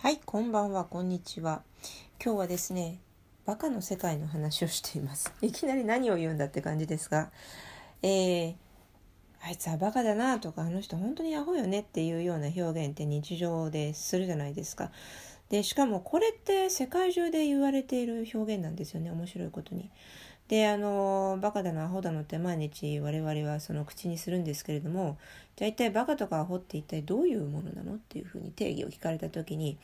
はい、こんばんは、こんにちは。今日はですね、バカの世界の話をしています。いきなり何を言うんだって感じですが、あいつはバカだなとか、あの人本当にアホよねっていうような表現って日常でするじゃないですか。で、しかもこれって世界中で言われている表現なんですよね、面白いことに。で、バカだのアホだのって毎日我々はその口にするんですけれども、じゃあ一体バカとかアホって一体どういうものなのっていうふうに定義を聞かれた時に、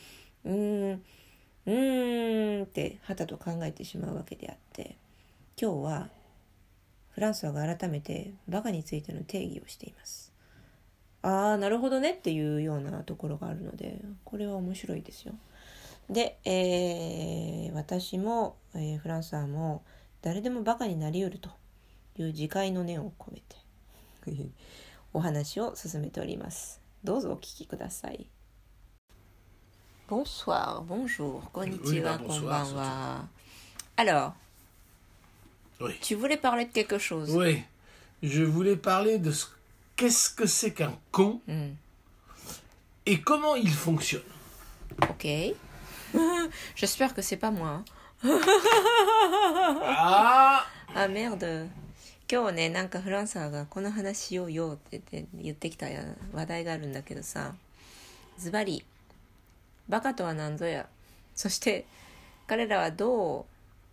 ってはたと考えてしまうわけであって、今日はフランソワが改めてバカについての定義をしています。ああ、なるほどねっていうようなところがあるので、これは面白いですよ。で、私も、フランソワも誰でもバカになりうるという自戒の念を込めてお話を進めております。どうぞお聞きください。Bonsoir, bonjour, konnichiwa, konbanwa. Alors, Oui. tu voulais parler de quelque chose? Oui, je voulais parler de qu'est-ce que c'est qu'un con et comment il fonctionne. Ok. J'espère que c'est pas moi. Ah merde. 今日ね、なんかフランサーがこの話しようよって言ってきた話題があるんだけどさ、ズバリバカとは何ぞや、そして彼らはど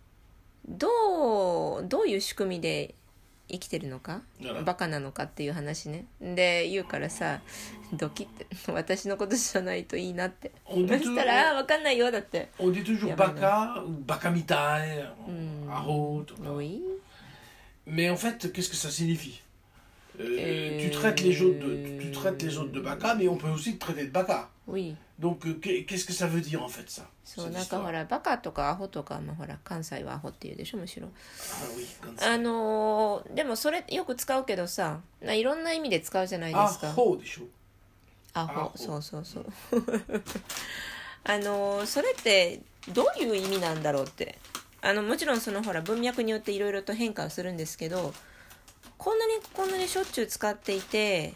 ういう仕組みで生きてるのか、バカなのかっていう話ね。で言うからさ、ドキって私のことじゃないといいなって。そしたら分かんないよだって。 On dit toujours baka ou baka mitai, aho, Oui. Mais en fait, qu'est-ce que ça signifie? Tu traites les autres de baka, mais on peut aussi te traiter de baka. Oui. Donc, qu'est-ce que ça veut dire en fait ça? そう、なんかほらバカとかアホとか、ほら関西はアホっていうでしょ、むしろ。 Ah oui, comme ça. でもそれよく使うけどさ、いろんな意味で使うじゃないですか。 アホでしょ。 アホ、そうそうそう。それってどういう意味なんだろうって。もちろんそのほら文脈によっていろいろと変化をするんですけど、こんなにしょっちゅう使っていて、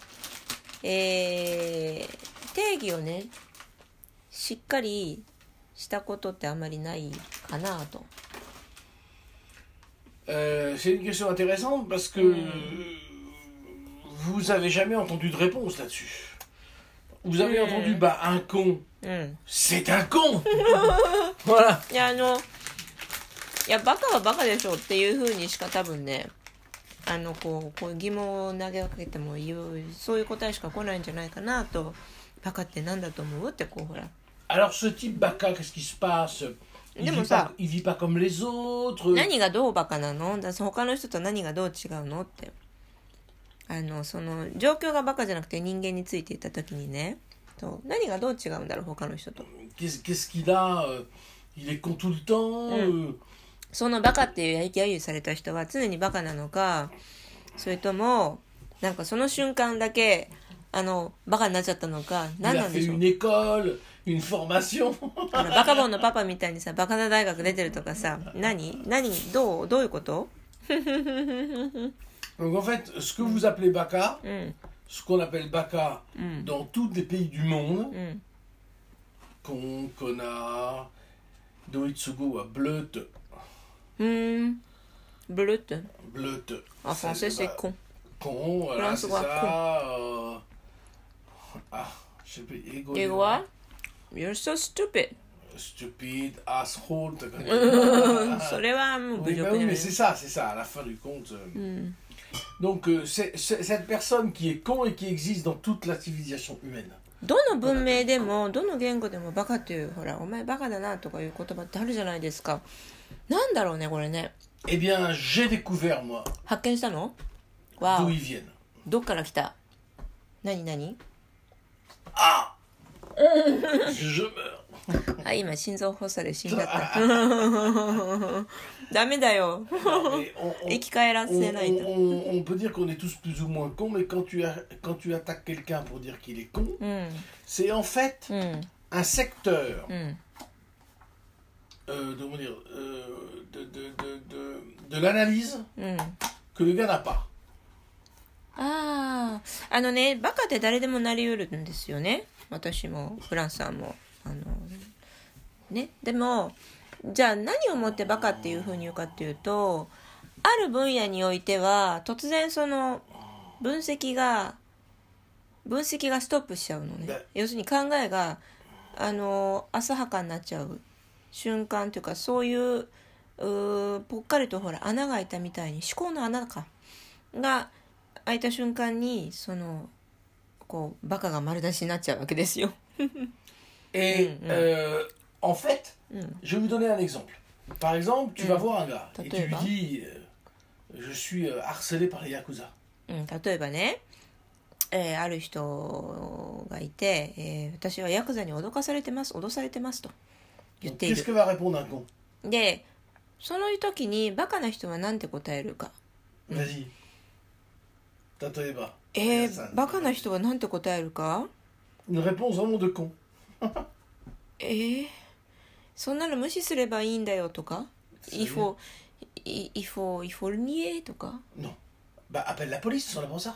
定義をねしっかりしたことってあんまりないかなと。 C'est une question intéressante parce que vous avez jamais entendu de réponse là-dessus. Vous avez entendu, un con, c'est un con. Voilà. いやバカはバカでしょっていう風にしか多分ね、こう疑問を投げかけてもそういう答えしか来ないんじゃないかなと。バカってなんだと思うってこうほら。 Alors ce type baka, qu'est-ce qui se passe? Il vit pas comme les autres. 何がどうバカなの？他の人と何がどう違うのって。その状況がバカじゃなくて人間について言った時にね、何がどう違うんだろう他の人と。 Qu'est-ce qu'il a? Il est con tout le temps. そのバカっていう揶揄された人は常にバカなのか、それともなんかその瞬間だけバカになっちゃったのか、何なんでしょう。 Il a fait une école, une formation. バカボンのパパみたいにさ、バカな大学出てるとかさ、どういうこと？ Donc en fait, ce que vous appelez baka, ce qu'on appelle baka dans tous les pays du monde, con, connard, doitsugo, bleute. Bleute. Bleute. En français, c'est con. Con, voilà, c'est ça. Je sais plus, Égoïste. You're so stupid. Stupide, asshole. それはもう侮辱じゃない。 Oui, mais c'est ça, à la fin du compte. Donc, c'est cette personne qui est con et qui existe dans toute la civilisation humaine. どの文明でもどの言語でもバカっていう、ほらお前バカだなとかいう言葉ってあるじゃないですか。なんだろうねこれね。 Eh bien, j'ai découvert moi. 発見したの？わ d'où お。 ils viennent. どっから来た？何？ Ah Je meurs. あ、今心臓発作で死んじゃった。ダメだよ。生き返らせないと。 On peut dire qu'on est tous plus ou moins cons, mais quand tu attaques quelqu'un pour dire qu'il est con, c'est en fait un secteur de l'analyse que le gars n'a pas. ね、バカって誰でもなりうるんですよね。私もフランスさんもね。でもじゃあ何をもってバカっていうふうに言うかっていうと、ある分野においては突然その分析がストップしちゃうのね。要するに考えが浅はかになっちゃう瞬間というか、そういうぽっかりとほら穴が開いたみたいに、思考の穴が開いた瞬間にそのこうバカが丸出しになっちゃうわけですよ。 Et en fait, je vais vous donner un exemple. Par exemple, tu vas voir un gars et tu lui dis je suis harcelé par les yakuza. 例えばね、ある人がいて、私はヤクザに脅されてますと言っている。 Qu'est-ce que va répondre un con? で、その時にバカな人は何て答えるか。 Vas-y. 例えば。 バカな人は何て答えるか？ Une réponse vraiment de con. そんなの無視すればいいんだよとか、il faut le nier とか。 Non. Bah appelle la police, ils sont là pour ça.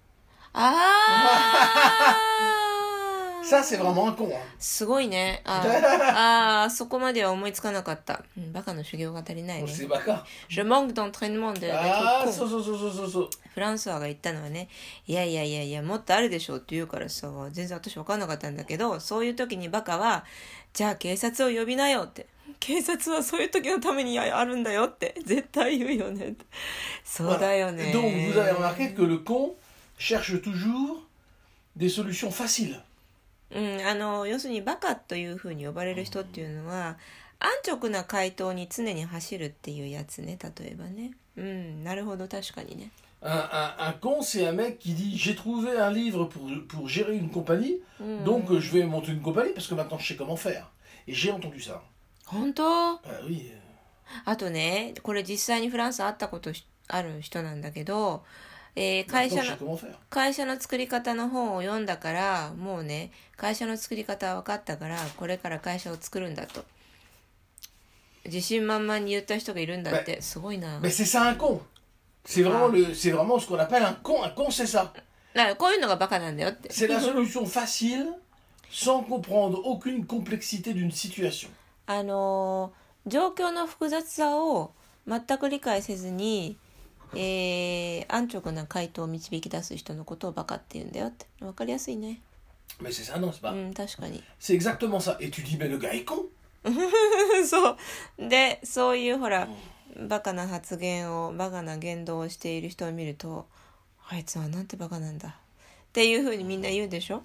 Ça c'est vraiment un con. すごいね。そこまでは思いつかなかった。バカの修行が足りないね。 C'est baka. Je manque d'entraînement de con. そう。 フランソワが言ったのはね、いやもっとあるでしょうって言うからさ、全然私分かんなかったんだけど、そういう時にバカはじゃあ警察を呼びなよって、警察はそういう時のためにあるんだよって絶対言うよねって。そうだよね。 Donc vous avez remarqué que le con cherche toujours des solutions faciles. 要するにバカというふうに呼ばれる人っていうのは安直な回答に常に走るっていうやつね。例えばね。なるほど、確かにね。 Un con, c'est un mec qui dit j'ai trouvé un livre pour gérer une compagnie, donc je vais monter une compagnie parce que maintenant je sais comment faire. Et j'ai entendu ça. 本当 ？oui. あとね、これ実際にフランス会ったことある人なんだけど、会社の作り方の本を読んだから、もうね、会社の作り方は分かったから、これから会社を作るんだと。自信満々に言った人がいるんだって。すごいな。 Mais c'est ça un con. C'est vraiment ce qu'on appelle un con. Un con, c'est ça. だからこういうのがバカなんだよって。 C'est la solution facile, sans comprendre aucune complexité d'une situation. 状況の複雑さを全く理解せずに、安直な回答を導き出す人のことをバカって言うんだよって。わかりやすいね。 Mais c'est ça, non, c'est pas. 確かに。 C'est exactement ça. Et tu dis, mais le gars est con. そうで、そういうほらバカな発言を、バカな言動をしている人を見ると、あいつはなんてバカなんだっていうふうにみんな言うでしょ。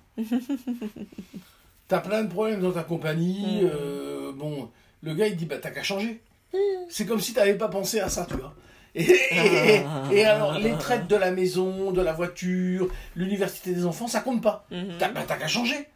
T'as plein de problèmes dans ta compagnie. Bon, le gars il dit bah t'as qu'à changer. C'est comme si t'avais pas pensé à ça, tu vois. Et alors les traites de la maison, de la voiture, l'université des enfants, ça compte pas. T'as qu'à changer.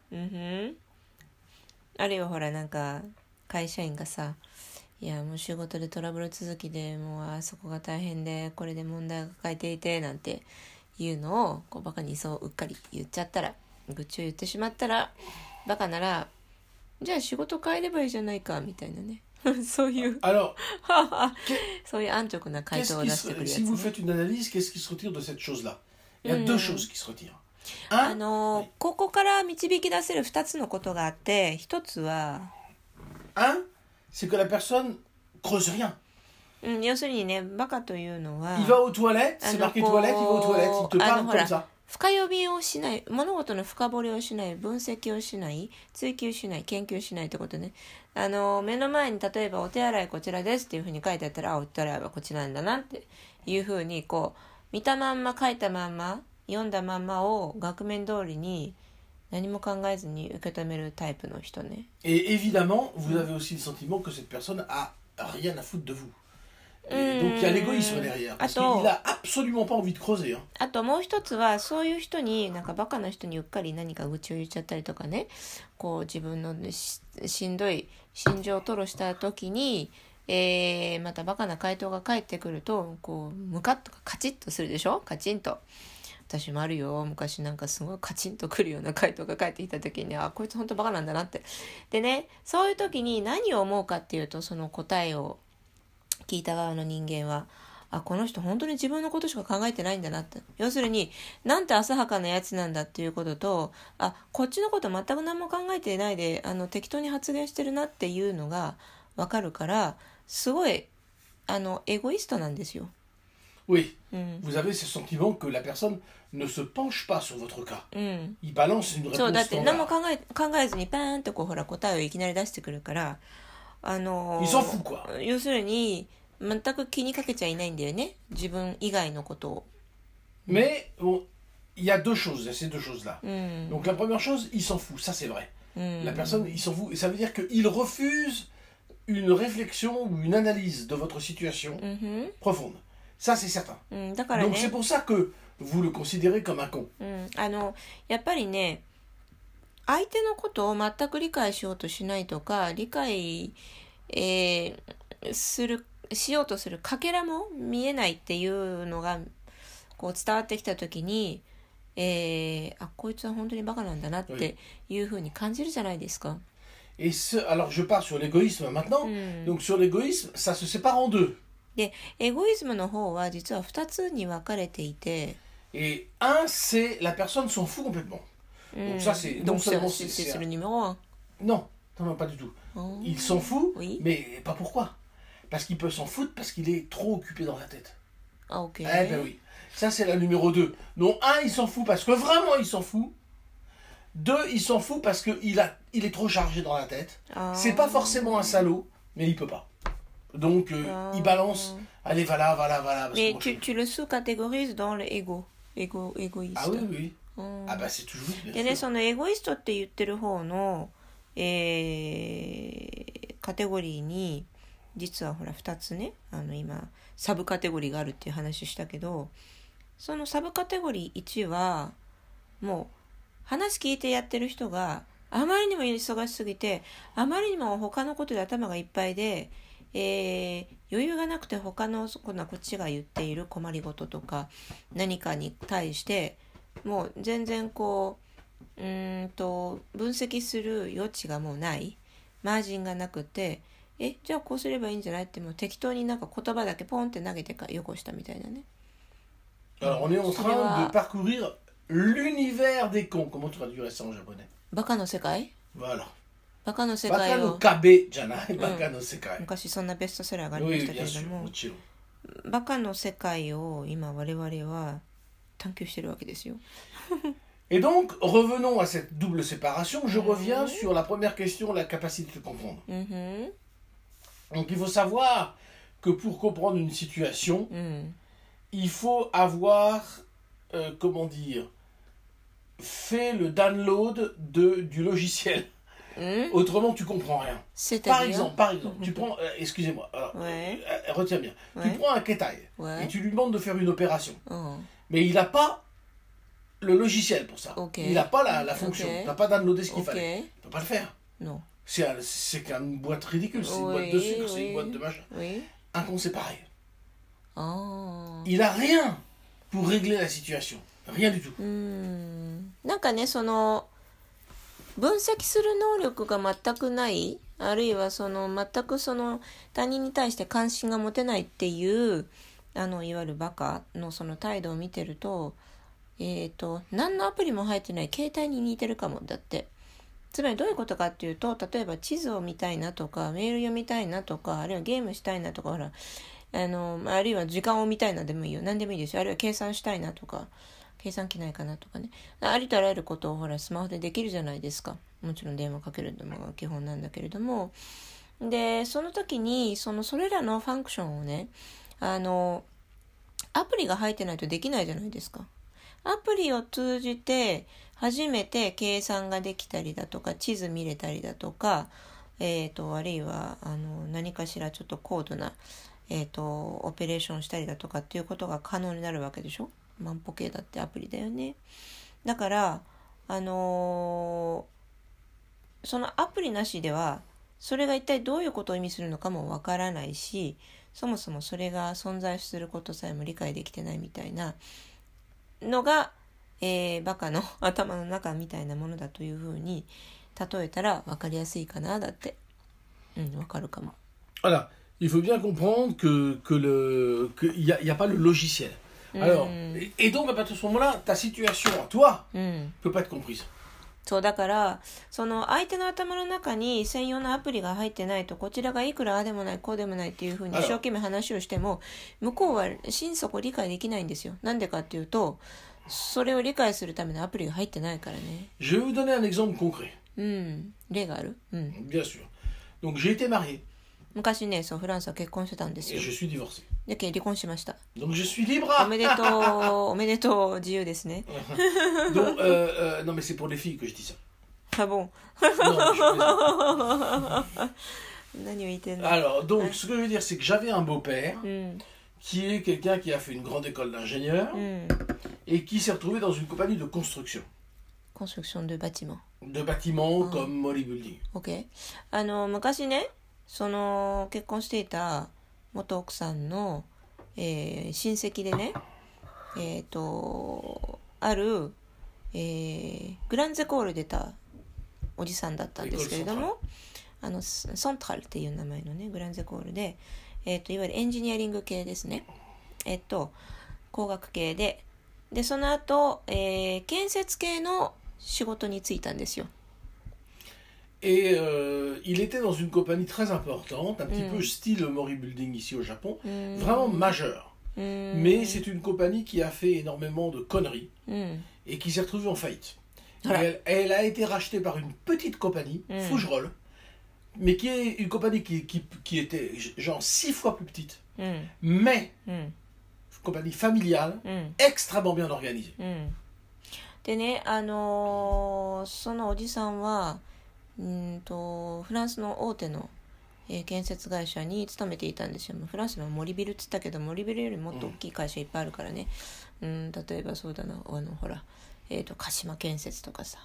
あるいはほらなんか会社員がさ、いやもう仕事でトラブル続きでもうあそこが大変でこれで問題が抱えていてなんていうのをこうバカにそうっかり言っちゃったら、愚痴を言ってしまったら、バカならじゃあ仕事変えればいいじゃないかみたいなね。そういうそういう安直な回答を出してくるやつ、ね。 Si vous faites une analyse, qu'est-ce qui se retire de cette chose-là? Il y a deux choses qui se retirent. ここから導き出せる2つのことがあって、1つは c'est que la personne creuse rien. 要するにね、バカというのは Il va aux toilettes, c'est marqué toilette, il va aux toilettes, il te parle comme ça. 深読みをしない、物事の深掘りをしない、分析をしない、追求しない、研究しないってことね。目の前に例えばお手洗いこちらですっていうふうに書いてあったら、お手洗いはこちらなんだなっていうふうにこう見たまんま書いたまんま読んだまんまを額面通りに何も考えずに受け止めるタイプの人ね。 Et évidemment, vous avez aussi le sentiment que cette personne a rien à foutre de vous. Et donc il y a l'égoïsme derrière. Parce qu'il a absolument pas envie de creuser. あともう一つは、そういう人になんかバカな人にうっかり何か愚痴を言っちゃったりとかね、こう自分のしんどい心情を吐露した時に、またバカな回答が返ってくると、こうムカッとかカチッとするでしょ。カチンと。私もあるよ。昔なんかすごいカチンとくるような回答が返ってきた時に、こいつ本当バカなんだなって。でね、そういう時に何を思うかっていうと、その答えを聞いた側の人間は、 あ、この人本当に自分のことしか考えてないんだなって。要するに、なんて浅はかなやつなんだっていうことと、あ、こっちのこと全く何も考えてないで、適当に発言してるなっていうのがわかるから、すごい、エゴイストなんですよ。 Oui, vous avez ce sentiment que la personne ne se penche pas sur votre cas. Il balance une そう、だ réponse って何も standard. 考えずにパーンとこうほら答えをいきなり出してくるから、 Il s'en fout, quoi. 要するに全く気にかけちゃいないんだよね、自分以外のことを。 Mais bon, il y a deux choses, il y a ces deux choses-là. Donc la première chose, il s'en fout, ça c'est vrai. La personne, il s'en fout, et ça veut dire qu'il refuse une réflexion ou une analyse de votre situation profonde. Ça c'est certain. だからね、 Donc c'est pour ça que vous le considérez comme un con. やっぱりね、相手のことを全く理解しようとしないとか、理解、しようとするかけらも見えないっていうのがこう伝わってきたときに、あ、こいつは本当にバカなんだなっていうふうに感じるじゃないですか。 Et alors je pars sur l'égoïsme maintenant. Donc sur l'égoïsme, ça se sépare en deux. で、エゴイズムの方は実は2つに分かれていて、 Et un, c'est la personne s'en fout complètement. Donc ça, c'est non donc seulement c'est le numéro 1. Non, non, pas du tout. Oh. Il s'en fout, Oui. mais pas pourquoi. Parce qu'il peut s'en foutre parce qu'il est trop occupé dans la tête. Ah, ok. Eh ben oui. Ça, c'est la numéro 2. Donc, un, il s'en fout parce que vraiment, il s'en fout. 2, il s'en fout parce qu'il est trop chargé dans la tête. Ah. C'est pas forcément un salaud, mais il peut pas. Donc, il balance. Allez, voilà. Parce Mais que tu le sous-catégorises dans le égoïste. Ah oui, oui. Ah bah c'est toujours bien でね、 sûr. そのエゴイストって言ってる方の、カテゴリーに実はほら2つね、今サブカテゴリーがあるっていう話したけど、そのサブカテゴリー1はもう話聞いてやってる人があまりにも忙しすぎて、あまりにも他のことで頭がいっぱいで、余裕がなくて他のこっちが言っている困りごととか何かに対してもう全然こう分析する余地がもうない、マージンがなくて、じゃあこうすればいいんじゃないってもう適当になんか言葉だけポンって投げてよこしたみたいなね。 Alors on est en train de parcourir l'univers des cons. Comment tu traduirais ça en japonais? バカの世界？ Voilà. バカの世界 Baka を no kabe janai, baka no sekai. 昔そんなベストセラーがありま Oui, したけ bien れど sûr, も、 mochiro. バカの世界を今我々は探求してるわけですよ。 Et donc, revenons à cette double séparation. Je reviens sur la première question, la capacité de comprendre. Donc, il faut savoir que pour comprendre une situation, il faut avoir, comment dire, fait le download du logiciel. Autrement, tu comprends rien. Par exemple, tu prends, excusez-moi, alors, Ouais. Retiens bien. Ouais. Tu prends un Ketai Ouais. et tu lui demandes de faire une opération. Oh. Mais il n'a pas le logiciel pour ça. Ok. Il n'a pas la fonction. Ok. Il n'a pas downloadé ce qu'il Ok. fallait. Il ne peut pas le faire. Non. C'est qu'une boîte ridicule. C'est une boîte de sucre, c'est une boîte de machin. Oui. Un con, c'est pareil. Oh. Il n'a rien pour régler la situation. Rien du tout. なんかね、その分析する能力が全くない、あるいはその全くその他人に対して関心が持てないっていういわゆるバカのその態度を見てると、何のアプリも入ってない携帯に似てるかも。だってつまりどういうことかっていうと、例えば地図を見たいなとかメール読みたいなとか、あるいはゲームしたいなとか、ほらあるいは時間を見たいなでもいいよ、何でもいいですよ。あるいは計算したいなとか、計算機ないかなとかね、ありとあらゆることをほらスマホでできるじゃないですか。もちろん電話かけるのが基本なんだけれども、でその時にそれらのファンクションをね、アプリが入ってないとできないじゃないですか。アプリを通じて初めて計算ができたりだとか、地図見れたりだとか、あるいは何かしらちょっと高度な、オペレーションしたりだとかっていうことが可能になるわけでしょ。万歩計だってアプリだよね。だからそのアプリなしではそれが一体どういうことを意味するのかもわからないし、そもそもそれが存在することさえも理解できてないみたいなのが、バカの頭の中みたいなものだというふうに例えたらわかりやすいかな。だってわかるかも。 Voilà. il faut bien comprendre qu'il n'y a pas le logiciel. Alors, et donc à partir de ce moment-là, ta situation à toi peut pas être comprise. そうだからその相手の頭の中に専用のアプリが入ってないとこちらがいくらああでもないこうでもないっていうふうに一生懸命話をしても向こうは心底理解できないんですよ。なんでかっていうとそれを理解するためのアプリが入ってないからね。 Je vais vous donner un exemple concret. 例がある Bien sûr. Donc j'ai été marié. 昔ね、そうフランスは結婚してたんですよ。 Et je suis divorcé. で離婚しました。 Donc je suis libre. おめでとうおめでとう自由ですね。 Donc non mais c'est pour les filles que je dis ça. Ah bon? Alors donc ce que je veux dire c'est que j'avais un beau-père qui est quelqu'un qui a fait une grande école d'ingénieur et qui s'est retrouvé dans une compagnie de construction. Construction de bâtiments. De bâtiments comme Molly Building. OK。昔ね、その結婚していた元奥さんの、親戚でね、ある、グランゼコール出たおじさんだったんですけれども、ソントラルっていう名前のねグランゼコールで、いわゆるエンジニアリング系ですね。工学系でその後、建設系の仕事に就いたんですよ。 Et il était dans une compagnie très importante, un petit peu style Mori Building ici au Japon, vraiment majeure. Mais c'est une compagnie qui a fait énormément de conneries et qui s'est retrouvée en faillite. Elle a été rachetée par une petite compagnie, Fougerolles, mais qui est une compagnie qui était genre 6 fois plus petite, mais une compagnie familiale, extrêmement bien organisée. でね、そのおじさんはフランスの大手の、建設会社に勤めていたんですよ。フランスの森ビルって言ったけど森ビルよりもっと大きい会社いっぱいあるからね。例えばそうだなほら、鹿島建設とかさ、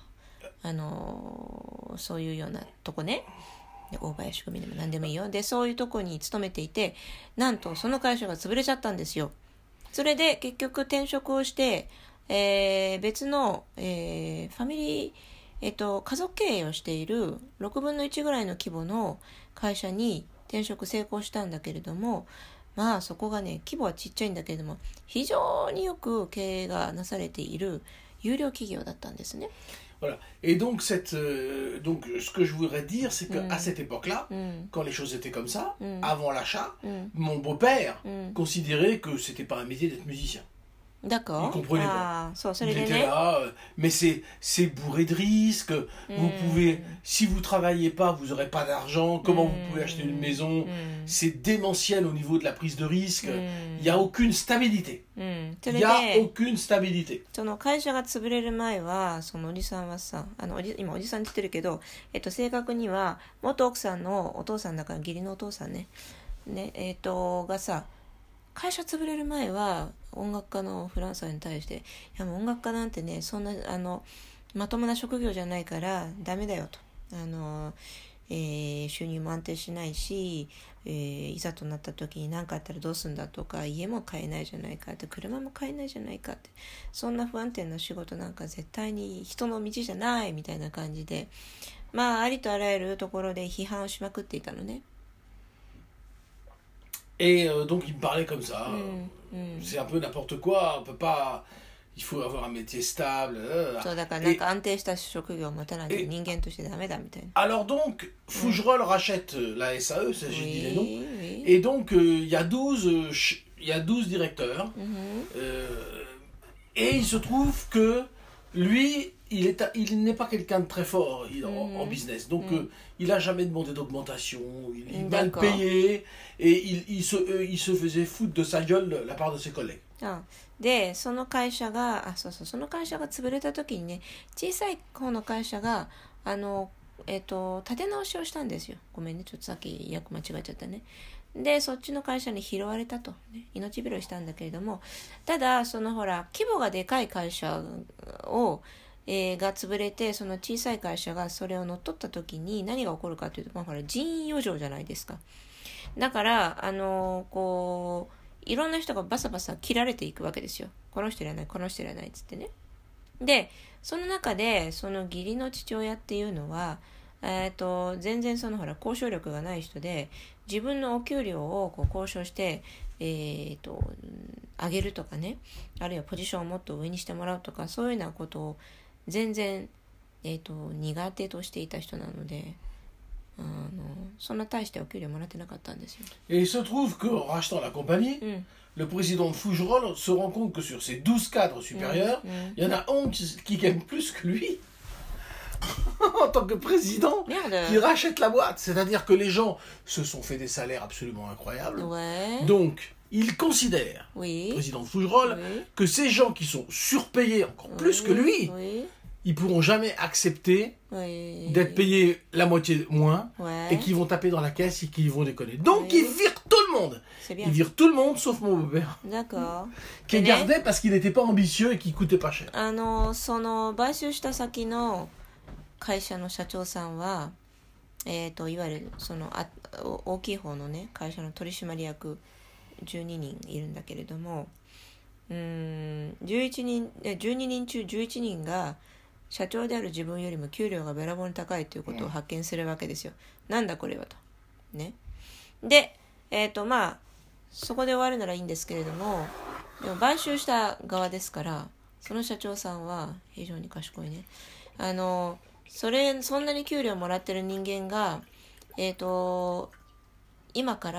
そういうようなとこね。大林組でも何でもいいよ。でそういうとこに勤めていて、なんとその会社が潰れちゃったんですよ。それで結局転職をして、別の、ファミリー、家族経営をしている6分の1ぐらいの規模の会社に転職成功したんだけれども、まあそこがね規模はちっちゃいんだけれども非常によく経営がなされている優良企業だったんですね。 Voilà. Et donc, donc, ce que je voudrais dire, c'est qu'à cette époque-là, quand les choses étaient comme ça, avant l'achat, mon beau-père considérait que c'était pas un métier d'être musicien. D'accord. Il comprenait pas. Il était là, mais c'est bourré de risques. Vous pouvez, si vous travaillez pas, vous aurez pas d'argent. Comment vous pouvez acheter une maison? C'est démentiel au niveau de la prise de risque. Il y a aucune stabilité. Il y a aucune stabilité. その会社が潰れる前はそのおじさんはさ、今おじさんって言ってるけど、正確には元奥さんのお父さんだから義理のお父さんね、がさ。会社潰れる前は音楽家のフランスに対していやもう音楽家なんてねそんなまともな職業じゃないからダメだよと収入も安定しないし、いざとなった時に何かあったらどうするんだとか家も買えないじゃないかって車も買えないじゃないかってそんな不安定な仕事なんか絶対に人の道じゃないみたいな感じでまあありとあらゆるところで批判をしまくっていたのね。 Et donc il me parlait comme ça. C'est un peu n'importe quoi. On peut pas. Il faut avoir un métier stable. そうだからなんか安定した職業を持たないと人間としてダメだみたいな。 Alors donc Fougerolles rachète la SAE, ça j'ai dit les noms. Et donc il y a 12 directeurs. Et il se trouve que lui il n'est pas quelqu'un de très fort en business, donc il a jamais demandé d'augmentation, il est mal payé et il se faisait foutre de sa gueule la part de ses collègues. でその会社がその会社が潰れた時にね小さい方の会社が立て直しをしたんですよ。ごめんねちょっとさっき訳間違えちゃったね。でそっちの会社に拾われたと、ね、命拾いしたんだけれどもただそのほら規模がでかい会社をが潰れてその小さい会社がそれを乗っ取った時に何が起こるかというと、ほら人員余剰じゃないですか。だからこういろんな人がバサバサ切られていくわけですよ。この人いらないこの人いらないっつってね。でその中でその義理の父親っていうのは全然そのほら交渉力がない人で、自分のお給料をこう交渉して、上げるとかね、あるいはポジションをもっと上にしてもらうとか、そういうようなことを全然、苦手としていた人なので、そんな大してお給料もらってなかったんですよ。 Et il se trouve qu'en rachetant la compagnie, le président de Fougerolles se rend compte que sur ses 12 cadres supérieurs, il y en a 11 qui gagnent plus que lui en tant que président, qui rachète la boîte. C'est-à-dire que les gens se sont fait des salaires absolument incroyables. Ouais. Donc, il considère, Oui. le président de Fougerolles, Oui. que ces gens qui sont surpayés encore plus que lui, ils pourront jamais accepter d'être payés la moitié moins et qu'ils vont taper dans la caisse et qu'ils vont déconner. Donc ils virent tout le monde. Ils virent tout le monde sauf mon beau-père. D'accord. Qui est gardé parce qu'il n'était pas ambitieux et qu'il coûtait pas cher. その買収した先の会社の社長さんは、いわゆるその大きい方のね会社の取締役12人いるんだけれども、12人中11人が社長である自分よりも給料がべらぼうに高いということを発見するわけですよ。なんだこれはと。ね。で、まあ、そこで終わるならいいんですけれども、でも買収した側ですから、その社長さんは非常に賢いね。そんなに給料もらってる人間が、今から、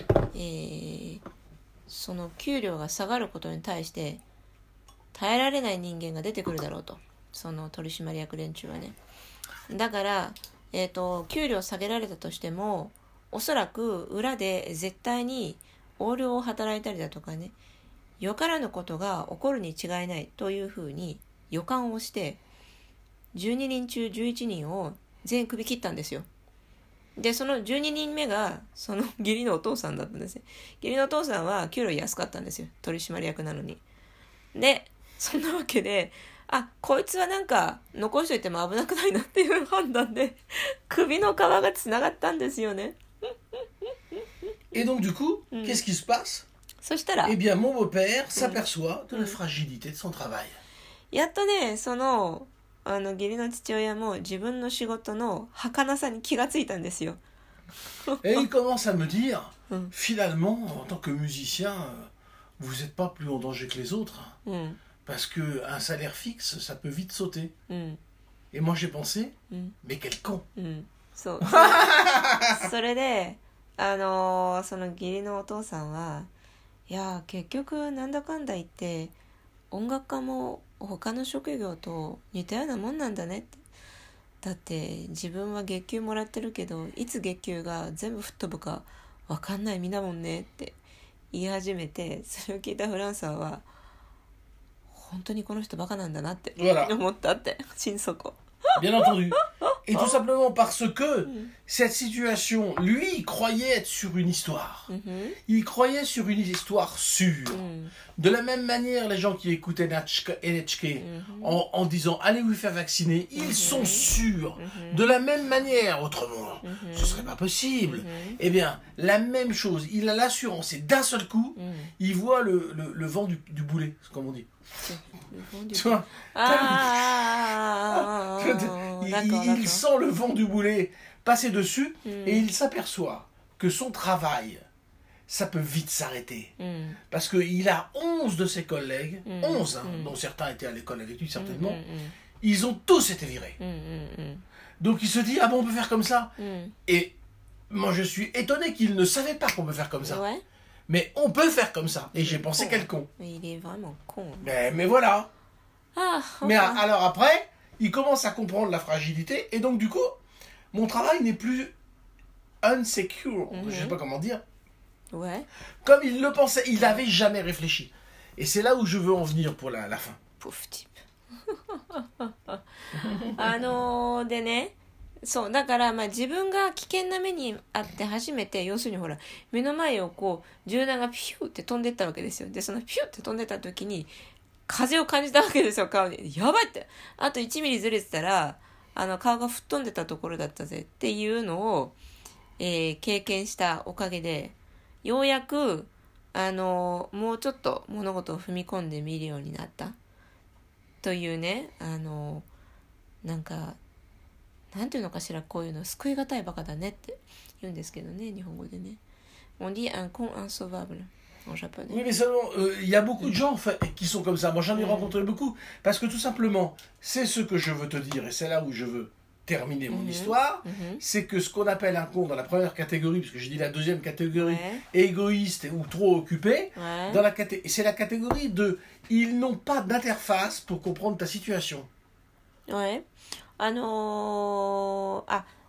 その給料が下がることに対して耐えられない人間が出てくるだろうと。その取締役連中はね。だから、給料下げられたとしても、おそらく裏で絶対に横領を働いたりだとかね、よからぬことが起こるに違いないというふうに予感をして、12人中11人を全員首切ったんですよ。で、その12人目が、その義理のお父さんだったんですね。義理のお父さんは給料安かったんですよ。取締役なのに。で、そんなわけで、こいつはなんか残しといても危なくないなっていう判断で首の皮がつながったんですよね。 Et donc du coup, qu'est-ce qui se passe? そしたら、 Eh bien, mon beau-père s'aperçoit de la fragilité de son travail. やっとね、その義理の父親も自分の仕事の儚さに気がついたんですよ。 Et il commence à me dire, finalement, en tant que musicien, vous n'êtes pas plus en danger que les autres. Parce qu'un salaire fixe, ça peut vite sauter. Et moi, j'ai pensé, mais quel con. そう。それで、その義理のお父さんは、いや、結局なんだかんだ言って、音楽家も他の職業と似たようなもんなんだねって。だって自分は月給もらってるけど、いつ月給が全部吹っ飛ぶか分かんない身だもんねって言い始めて、それを聞いたフランサーは、本当にこの人バカなんだなって思ったって、心底。 Bien entendu. Et tout simplement parce que cette situation, lui, il croyait être sur une histoire. Il croyait sur une histoire sûre. De la même manière, les gens qui écoutaient NHK en disant « Allez vous faire vacciner », ils sont sûrs. De la même manière, autrement, ce serait pas possible. Eh bien, la même chose. Il a l'assurance et d'un seul coup, il voit le vent du boulet, comme on dit. Tu vois, il sent le vent du boulet passer dessus et il s'aperçoit que son travail, ça peut vite s'arrêter. Parce qu'il a 11 de ses collègues, 11, dont certains étaient à l'école avec lui certainement, ils ont tous été virés. Donc il se dit, ah bon, on peut faire comme ça. Et moi je suis étonné qu'il ne savait pas qu'on peut faire comme ça. Ouais. Mais on peut faire comme ça. Et j'ai pensé quel con. Mais il est vraiment con. Mais voilà. Enfin. Mais alors après, il commence à comprendre la fragilité. Et donc du coup, mon travail n'est plus unsecure. Je sais pas comment dire. Ouais. Comme il le pensait. Il n'avait jamais réfléchi. Et c'est là où je veux en venir pour la fin. Pauvre type. でね、そうだから、自分が危険な目にあって初めて、要するにほら目の前をこう銃弾がピューって飛んでったわけですよ。でそのピューって飛んでた時に風を感じたわけですよ、顔に。やばいって、あと1ミリずれてたら顔が吹っ飛んでたところだったぜっていうのを、経験したおかげで、ようやくもうちょっと物事を踏み込んでみるようになったというね、なんかなんていうのかしら、こういうの救いがたいバカだねって言うんですけどね、日本語でね。On dit un con insauvable en japonais. Oui, mais seulement, il y a beaucoup de gens en fait, qui sont comme ça. Moi, j'en ai rencontré beaucoup. Parce que tout simplement, c'est ce que je veux te dire, et c'est là où je veux terminer mon histoire, c'est que ce qu'on appelle un con dans la première catégorie, parce que j'ai dit la deuxième catégorie, égoïste ou trop occupé, dans la c'est la catégorie de ils n'ont pas d'interface pour comprendre ta situation. Ouais. Attends.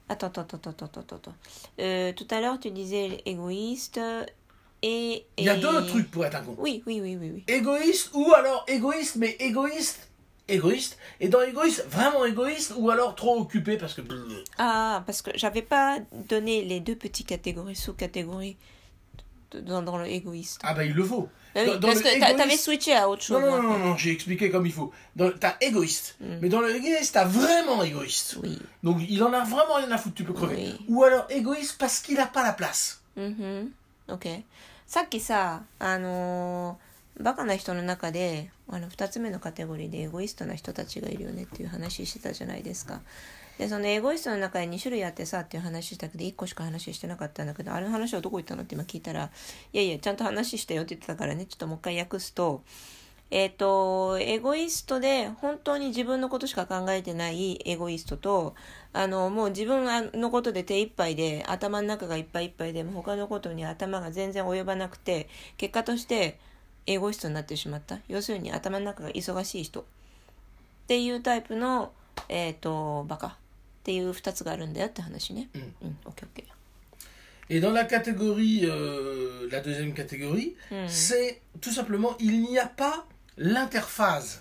Tout à l'heure, tu disais égoïste et... Il y a deux trucs pour être un con. Oui. Égoïste ou alors égoïste, mais égoïste. Et dans égoïste, vraiment égoïste ou alors trop occupé parce que... Ah, parce que j'avais pas donné les deux petites catégories, sous-catégories dans le égoïste. Ah bah il le faut. Parce que t'avais switché à autre chose. Non, j'ai expliqué comme il faut. T'as égoïste, mais dans le égoïste, t'as vraiment égoïste. Oui. Donc il en a vraiment rien à foutre, tu peux crever. Oui. Ou alors égoïste parce qu'il n'a pas la place. OK。さっきさ、バカな人の中で2つ目のカテゴリーでエゴイストな人たちがいるよねっていう話してたじゃないですか。でそのエゴイストの中に2種類あってさっていう話したけど1個しか話してなかったんだけど、あれの話はどこ行ったのって今聞いたら、いやちゃんと話したよって言ってたからね、ちょっともう一回訳すと、エゴイストで本当に自分のことしか考えてないエゴイストと、もう自分のことで手一杯で頭の中がいっぱいいっぱいでも他のことに頭が全然及ばなくて、結果としてエゴイストになってしまった、要するに頭の中が忙しい人っていうタイプのバカっていう2つがあるんだよって話ね。OK。 Et dans la catégorie, la deuxième catégorie, c'est tout simplement, il n'y a pas l'interphase.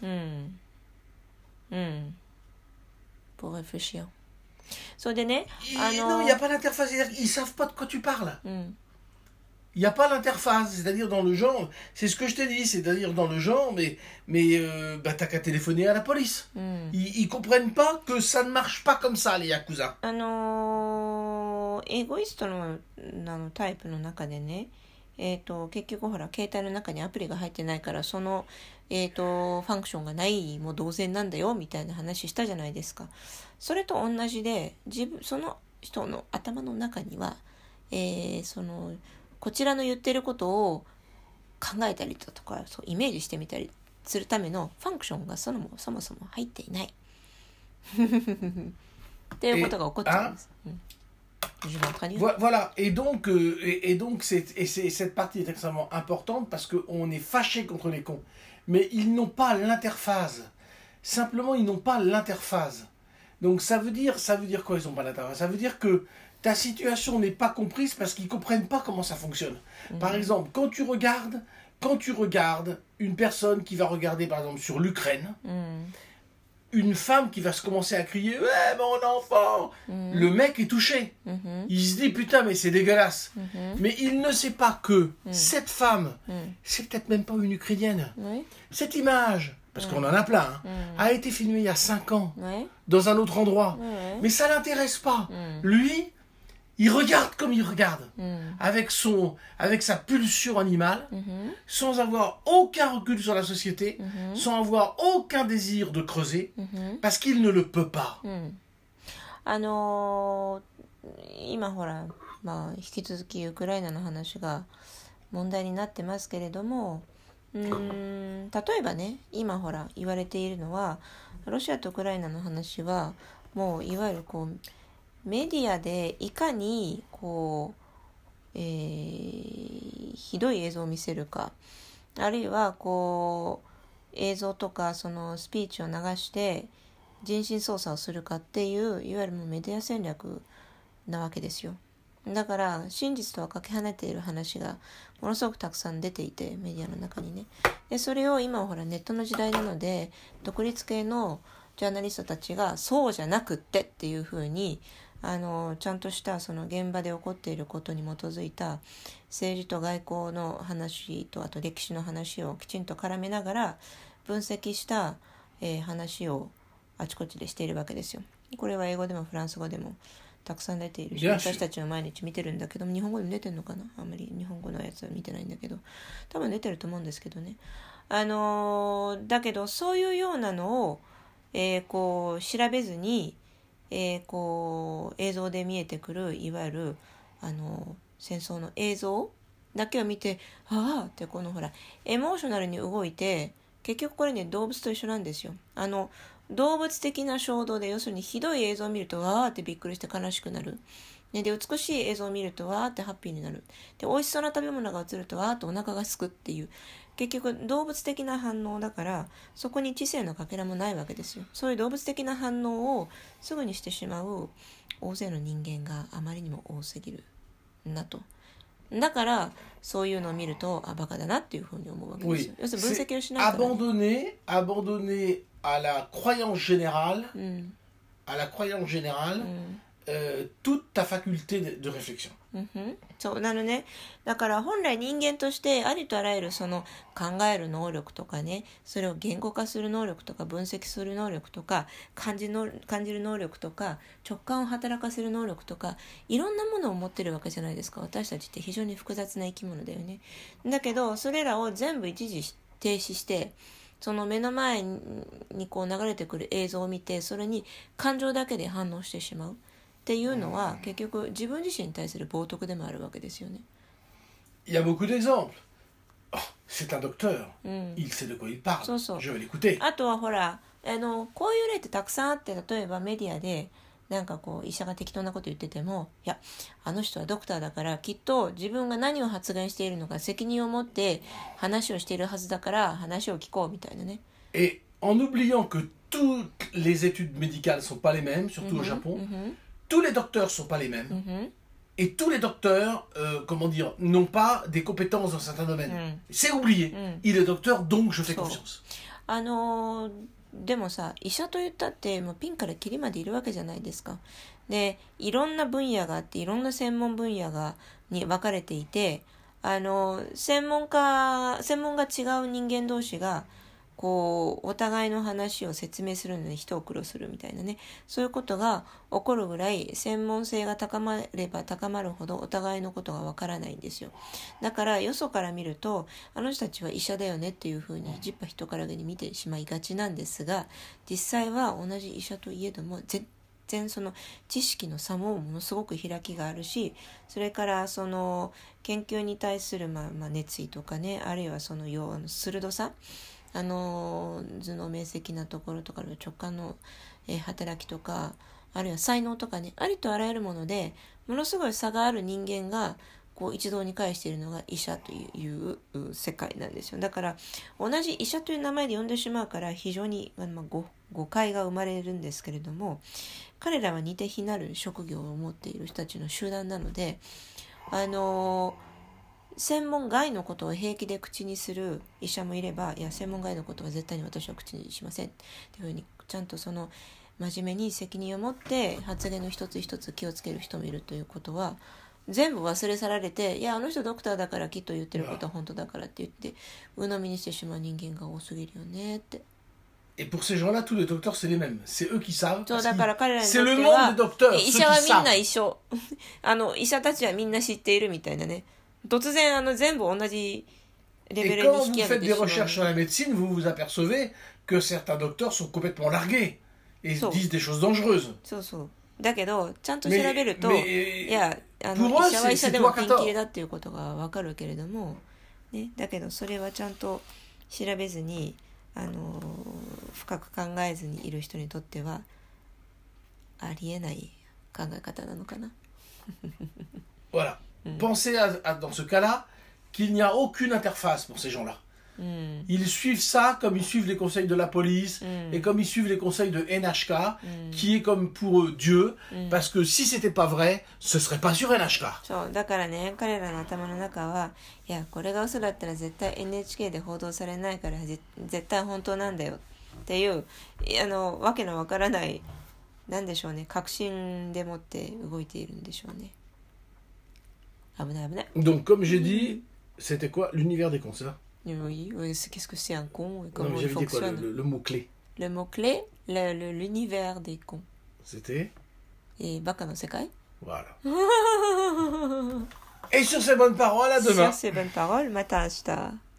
Pour réfléchir. それでね、 non, il n'y a pas l'interphase, c'est-à-dire qu'ils ne savent pas de quoi tu parles. Il n'y a pas l'interface, c'est-à-dire dans le genre, c'est ce que je t'ai dit, c'est-à-dire dans le genre, mais t'as qu'à téléphoner à la police. Ils comprennent pas que ça ne marche pas comme ça, les Yakuza. エゴイストのタイプの中でね、結局ほら携帯の中にアプリが入ってないからその、ファンクションがないも同然なんだよみたいな話したじゃないですか。それと同じでその人の頭の中には、こちらの言ってることを考えたりだとかそうイメージしてみたりするためのファンクションがそもそも入っていないっていうことが起こっちゃうんです。 Voilà, et donc cette partie est extrêmement importante parce qu'on est fâché contre les cons. Mais ils n'ont pas l'interphase. Simplement, ils n'ont pas l'interphase. Donc ça veut dire quoi, ils n'ont pas l'interphase? Ça veut dire que ta situation n'est pas comprise parce qu'ils ne comprennent pas comment ça fonctionne. Par exemple, quand tu regardes une personne qui va regarder par exemple sur l'Ukraine, une femme qui va se commencer à crier « Ouais, mon enfant !» Le mec est touché. Il se dit « Putain, mais c'est dégueulasse. » Mais il ne sait pas que cette femme, c'est peut-être même pas une Ukrainienne. Cette image, parce qu'on en a plein, a été filmée il y a 5 ans, dans un autre endroit. Mais ça ne l'intéresse pas. Lui, il regarde comme il regarde, avec sa pulsion animale, sans avoir aucun recul sur la société, sans avoir aucun désir de creuser, parce qu'il ne le peut pas. 今ほら、引き続きウクライナの話が問題になってますけれども、例えばね、今ほら言われているのは、ロシアとウクライナの話はもういわゆるこうメディアでいかにこう、ひどい映像を見せるか、あるいはこう映像とかそのスピーチを流して人心操作をするかっていういわゆるもうメディア戦略なわけですよ。だから真実とはかけ離れている話がものすごくたくさん出ていて、メディアの中にね。でそれを今はほらネットの時代なので独立系のジャーナリストたちがそうじゃなくってっていうふうにちゃんとしたその現場で起こっていることに基づいた政治と外交の話とあと歴史の話をきちんと絡めながら分析した、話をあちこちでしているわけですよ。これは英語でもフランス語でもたくさん出ているし、私たちは毎日見てるんだけども、日本語でも出てるのかな、あんまり日本語のやつは見てないんだけど、多分出てると思うんですけどね。だけどそういうようなのを、こう調べずにこう映像で見えてくるいわゆる戦争の映像だけを見てああってこのほらエモーショナルに動いて結局これね動物と一緒なんですよ。動物的な衝動で要するにひどい映像を見るとわーってびっくりして悲しくなる。で美しい映像を見るとわーってハッピーになる。で美味しそうな食べ物が映るとわーってお腹がすくっていう結局動物的な反応だからそこに知性のかけらもないわけですよ。そういう動物的な反応をすぐにしてしまう大勢の人間があまりにも多すぎるんだと。だからそういうのを見るとバカだなっていうふうに思うわけですよ。要するに分析をしないから、 ね。abandonner à la croyance générale, à la croyance générale, toute ta faculté de réflexion. そうなのね。だから本来人間としてありとあらゆるその考える能力とかね、それを言語化する能力とか分析する能力とか感じる能力とか直感を働かせる能力とかいろんなものを持ってるわけじゃないですか。私たちって非常に複雑な生き物だよね。だけどそれらを全部一時停止してその目の前にこう流れてくる映像を見てそれに感情だけで反応してしまうっていうのは結局自分自身に対する冒涜でもあるわけですよね。 Il y a beaucoup d'exemples. Oh, c'est un docteur. Il sait de quoi il parle. そうそう。 Je vais l'écouter. あとはほらこういう例ってたくさんあって例えばメディアでなんかこう医者が適当なこと言っててもいやあの人はドクターだからきっと自分が何を発言しているのか責任を持って話をしているはずだから話を聞こうみたいなね。 Et en oubliant que toutes les études médicales sont pas les mêmes, surtout au Japon, tous les docteurs sont pas les mêmes. Et tous les docteurs, comment dire, n'ont pas des compétences dans certains domaines. C'est oublié. Il est docteur, donc je fais confiance. でもさ医者といったってもうピンからキリまでいるわけじゃないですか。でいろんな分野があっていろんな専門分野に分かれていて専門が違う人間同士がこうお互いの話を説明するのに一苦労するみたいなねそういうことが起こるぐらい専門性が高まれば高まるほどお互いのことがわからないんですよ。だからよそから見るとあの人たちは医者だよねっていうふうにじっぱ人からげに見てしまいがちなんですが実際は同じ医者といえども全然その知識の差もものすごく開きがあるしそれからその研究に対する熱意とかねあるいはその鋭さ頭脳明晰なところとか直感の、働きとかあるいは才能とかねありとあらゆるものでものすごい差がある人間がこう一堂に会しているのが医者という世界なんですよ。だから同じ医者という名前で呼んでしまうから非常に誤解が生まれるんですけれども彼らは似て非なる職業を持っている人たちの集団なので専門外のことを平気で口にする医者もいればいや専門外のことは絶対に私は口にしませんっていうふうにちゃんとその真面目に責任を持って発言の一つ一つ気をつける人もいるということは全部忘れ去られていやあの人ドクターだからきっと言ってることは本当だからって言って鵜呑みにしてしまう人間が多すぎるよねって。 Et pour ces gens-là, tous les docteurs, c'est les mêmes. C'est eux qui savent. そうだから彼らにと c'est って le は monde des docteurs. 医者はみんな一緒医者たちはみんな知っているみたいなね突然全部同じレベルに引き上げてしまう。 Et quand vous faites des recherches sur la médecine, vous vous apercevez que certains docteurs sont complètement largués et disent des choses dangereuses. そうそうだけどちゃんと調べるといや医者は医者でもピンキリだっていうことが分かるけれども、ね、だけどそれはちゃんと調べずに深く考えずにいる人にとってはありえない考え方なのかな。 Voilà. Pensez dans ce cas-là qu'il n'y a aucune interface pour ces gens-là. Ils suivent ça comme ils suivent les conseils de la police et comme ils suivent les conseils de NHK, qui est comme pour eux Dieu, parce que si c'était pas vrai, ce serait pas sur NHK. そうだからね彼らの頭の中はいやこれが嘘だったら絶対 NHK で報道されないから絶対本当なんだよっていうわけのわからないなんでしょうね確信でもって動いているんでしょうね。危ない危ない。 Donc comme j'ai dit, c'était quoi l'univers des cons, c'est ça? Oui, qu'est-ce que c'est un con et comment il fonctionne? Le mot-clé. Le mot-clé, l'univers des cons. C'était? Et Baka no Sekai. Voilà. Et sur ces bonnes paroles, à demain. Sur ces bonnes paroles, mata ashita.